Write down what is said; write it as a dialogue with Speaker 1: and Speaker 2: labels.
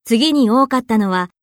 Speaker 1: 次に多かったのは